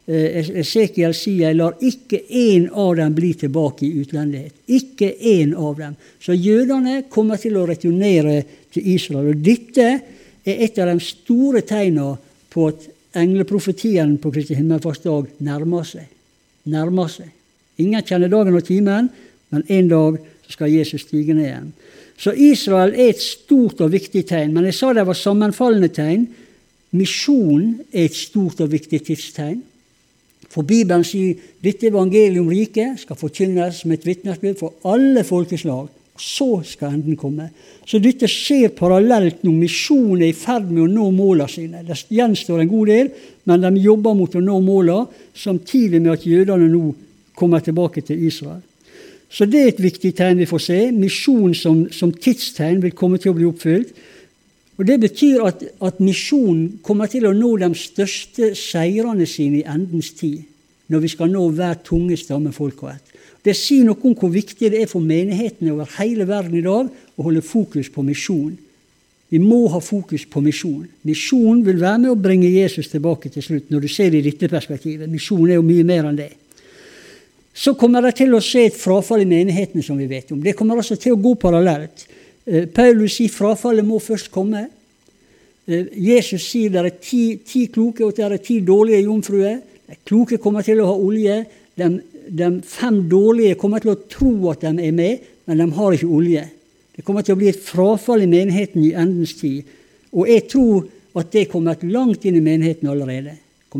Esekiel sier, jeg lar ikke en av dem bli tilbake i utlendighet. Ikke en av dem. Så jødene kommer til å returnere til Israel. Og dette et av de store tegnene på at engleprofetien på Kristi himmelfartsdag nærmer seg. Ingen kjenner dagen og timen, men en dag skal Jesus stige ned igjen. Så Israel et stort og viktig tegn, men jeg sa det var sammenfallende tegn. Misjon et stort og viktig tidstegn. For Bibelen sier dette evangelium riket skal forkynnes som et vitnesbyrd for alle folkeslag. Så skal enden komme. Så dette skjer parallelt når misjonen i ferd med å nå målene sine. Det gjenstår en god del, men de jobber mot å nå målene, samtidig med at jødene nå kommer tilbake til Israel. Så det et viktig tegn vi får se. Misjon som tidstegn vil komme til å bli oppfylt. Og det betyr at misjonen kommer til å nå de største seirene sine i endens tid, når vi skal nå hver tunge stamme folk og ett. Det sier noe om hvor viktig det for menighetene over hele verden i dag å holde fokus på misjon. Vi må ha fokus på misjon. Misjon vil være med å bringe Jesus tilbake til slutt, når du ser det i dette perspektivet. Misjon jo mye mer enn det. Så kommer det til å se et frafall i menighetene som vi vet om. Det kommer også til å gå parallelt. Paulus sier frafallet må først komme. Jesus sier det 10 kloke og det 10 dårlige jomfruer. De kloke kommer til å ha olje. De 5 dårlige kommer til å tro at de med, men de har ikke olje. Det kommer til å bli et frafall i menigheten i endens tid. Og jeg tror at det kommer langt inn i menigheten allerede.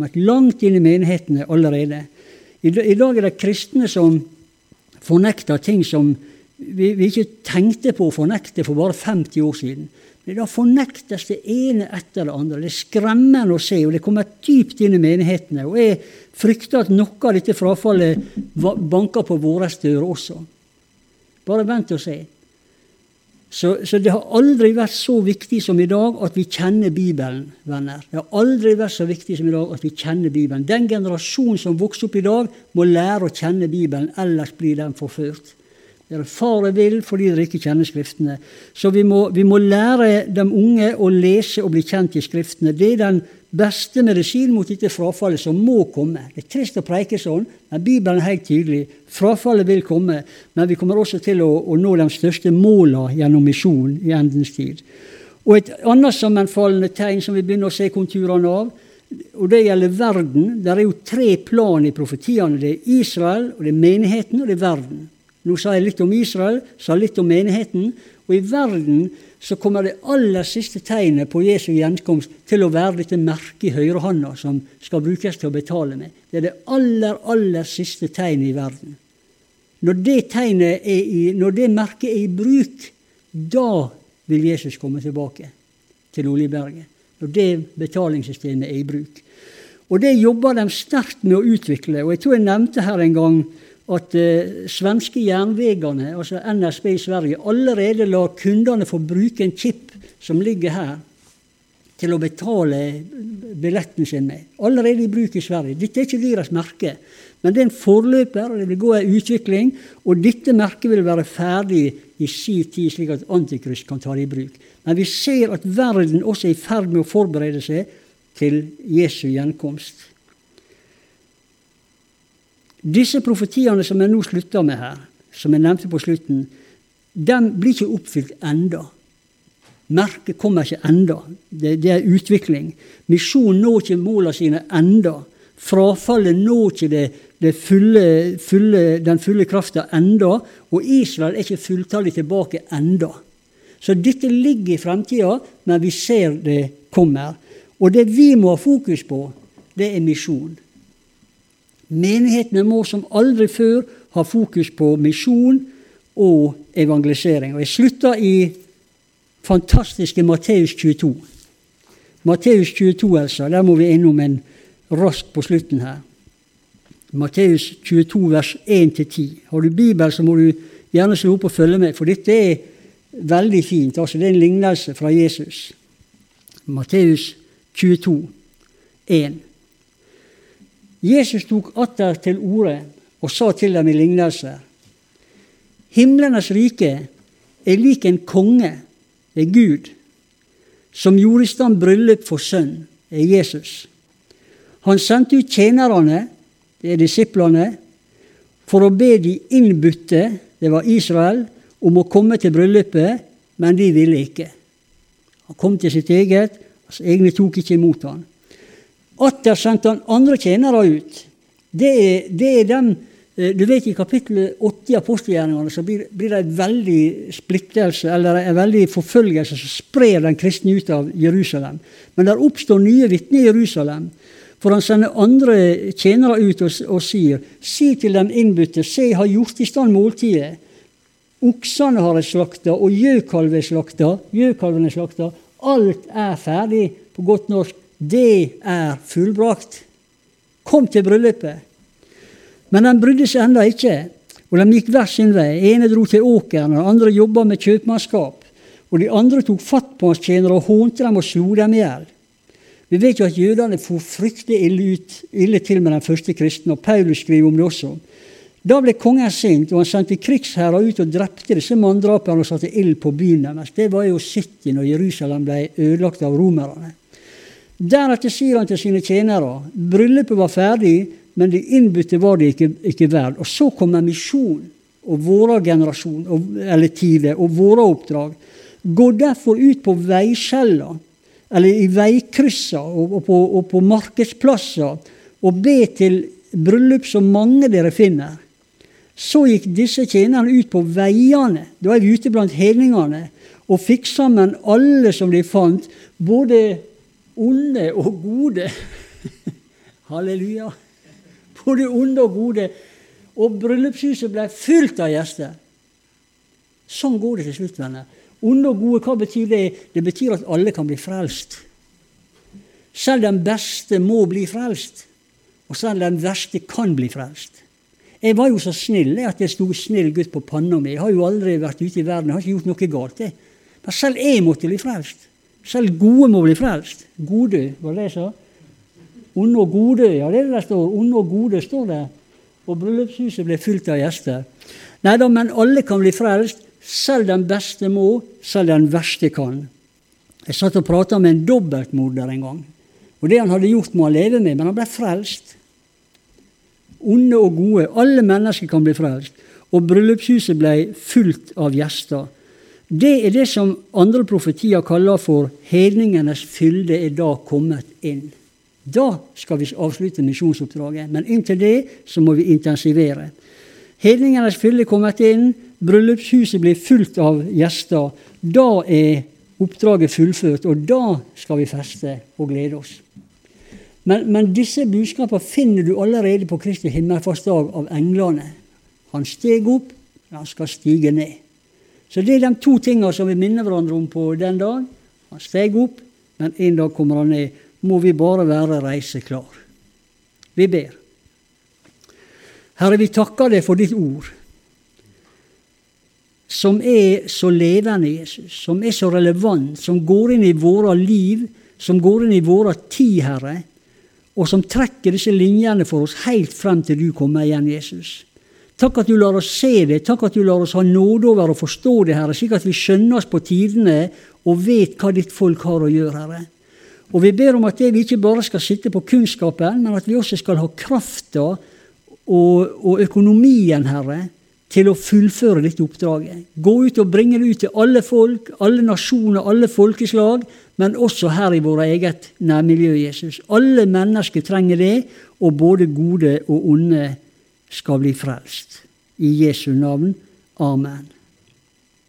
I dag det kristne som fornekter ting som vi ikke tenkte på å fornekte for bare 50 år siden. Men da fornektes det ene etter det andre. Det skremmende å se, og det kommer dypt inn i menighetene. Og jeg frykter at noe av dette frafallet banker på våre dører også. Bare vent og se. Så det har aldri vært så viktig som i dag at vi kjenner Bibelen, venner. Det har aldri vært så viktig som i dag at vi kjenner Bibelen. Den generasjon som vokser opp i dag må lære å kjenne Bibelen, ellers blir den forført. Det faret vil fordi dere ikke kjenner skriftene. Så vi må lære de unge å lese og bli kjent i skriftene. Det den beste medisin mot dette frafallet som må komme. Det trist å preike sånn, men Bibelen helt tydelig. Frafallet vil komme, men vi kommer også til å nå de største målene gjennom misjon i endens tid. Og et annet sammenfallende tegn som vi begynner å se konturene av, og det gjelder verden. Det jo 3 plan i profetiene. Det Israel, og det menigheten, og det verden. Nå sa jeg litt om Israel, sa litt om menigheten, og i verden så kommer det aller siste tegnet på Jesu gjenkomst til å være dette merket i høyrehånda som skal brukes til å betale med. Det det aller siste tegnet i verden. Når det merket i bruk, da vil Jesus komme tilbake til Oljeberget. Når det betalingssystemet i bruk. Og det jobber de sterkt med å utvikle, og jeg tror jeg nevnte her en gang at svenske jernvegene, altså NSB i Sverige, allerede lar kundene få bruke en chip som ligger her til å betale billetten sin med. Allerede i bruk i Sverige. Dette ikke deres merke, men det en forløper, og det vil gå en utvikling, og dette merket vil være ferdig i sin tid, slik at Antikrist kan ta det i bruk. Men vi ser at verden også i ferd med å forberede seg til Jesu gjenkomst. Disse profetiene som jeg nå slutter med her, som jeg nevnte på slutten, de blir ikke oppfylt enda. Merket kommer ikke enda. Det utvikling. Misjonen når ikke målene sine enda. Frafallet når ikke den fulle kraften enda, og Israel ikke fulltallig tilbake enda. Så dette ligger i fremtiden, men vi ser det kommer. Og det vi må ha fokus på, det misjon. Menighetene må som aldri før ha fokus på misjon og evangelisering. Og jeg slutter i fantastiske Matteus 22. Matteus 22, altså. Der må vi innom en rask på slutten her. Matteus 22, vers 1-10. Har du Bibel, så må du gjerne slå opp og følge med, for dette veldig fint. Altså, det en lignelse fra Jesus. Matteus 22, 1. Jesus tok atter til orde og sa til dem i lignelser: Himlenes rike lik en konge, det Gud, som gjorde i stand bryllup for sønn, Jesus. Han sendte ut tjenerne, det disiplene, for å be de innbytte, det var Israel, om å komme til bryllupet, men de ville ikke. Han kom til sitt eget, hans egne tok ikke imot han. Atter sendte han andre tjenere ut. Det er dem, du vet i kapittel 8 i apostelgjerningene, så blir det en veldig splittelse, eller en veldig forfølgelse som sprer den kristne ut av Jerusalem. Men der oppstår nye vitner i Jerusalem, for han sender andre tjenere ut og sier, si til dem innbytte, se, jeg har gjort i stand måltidet. Oksene har jeg slakta, og gjøkalven er slakta. Alt er ferdig, på godt norsk. Det er fullbrakt. Kom til bryllupet. Men de brydde seg enda ikke, og de gikk hver sin vei. Ene dro til åkeren, og andre jobbet med kjøpmannskap. Og de andre tok fatt på hans tjenere og hånte dem og slo dem ihjel. Vi vet jo at jødene for fryktelig ille til med den første kristne, og Paulus skriver om det også. Da ble kongen sint, og han sendte krigsherrer ut og drepte disse manndraperne og satte ild på byen deres. Det var jo City når Jerusalem ble ødelagt av romerne. Deretter sier han til sine tjenere, bryllupet var ferdig, men de innbytte var det ikke verd. Og så kommer misjon og våre generasjon, eller tider, og våre oppdrag. Gå derfor ut på veiskjeller, eller i veikrysser og på markedsplasser, og be til bryllup så mange dere finner. Så gikk disse tjenerne ut på veiene, da er vi ute blant hedningene, og fikk sammen alle som de fant, både onde og gode. Halleluja. Både onde og gode. Og bryllupshuset ble fylt av gjester. Sånn går det til slutt, venner. Onde og gode, hva betyr det? Det betyr at alle kan bli frelst. Selv den beste må bli frelst. Og selv den verste kan bli frelst. Jeg var jo så snill at jeg stod snill gutt på panna mi. Jeg har jo aldri vært ute i verden, jeg har ikke gjort noe galt. Men selv jeg måtte bli frelst. Selv gode må bli frelst. Gode, var det jeg sa? Onde og gode, ja det er det der står. Onde og gode står det. Og bryllupshuset ble fylt av gjester. Neida, men alle kan bli frelst. Selv den beste må, selv den verste kan. Jeg satt og pratet med en dobbeltmorder en gang. Og det han hadde gjort må han leve med, men han ble frelst. Onde og gode, alle mennesker kan bli frelst. Og bryllupshuset ble fylt av gjester. Det er det som andre profetier kaller for hedningenes fylde er da kommet inn. Da skal vi avslutte misjonsoppdraget, men inntil det så må vi intensivere. Hedningenes fylde er kommet inn, bryllupshuset blir fylt av gjester. Da er oppdraget fullført, og da skal vi feste og glede oss. Men disse budskaper finner du allerede på Kristi himmelfartsdag av englene. Han steg opp, han skal stige ned. Så det er de to tingene som vi minner hverandre om på den dagen. Han steg opp, men en dag kommer han ned. Må vi bare være reiseklar. Vi ber. Herre, vi takker deg for ditt ord, som er så levende, Jesus, som er så relevant, som går inn i våre liv, som går inn i våre tid, Herre, og som trekker disse linjene for oss helt frem til du kommer igjen, Jesus. Takk at du lar oss se det, takk at du lar oss ha nåde over å forstå det, Herre, slik at vi skjønner oss på tidene og vet hva ditt folk har å gjøre, Herre. Og vi ber om at vi ikke bare skal sitte på kunnskapen, men at vi også skal ha krafta og økonomien, Herre, til å fullføre dette oppdraget. Gå ut og bringe det ut til alle folk, alle nasjoner, alle folkeslag, men også her i vårt eget nærmiljø, Jesus. Alle mennesker trenger det, og både gode og onde skal bli frelst. I Jesu navn. Amen.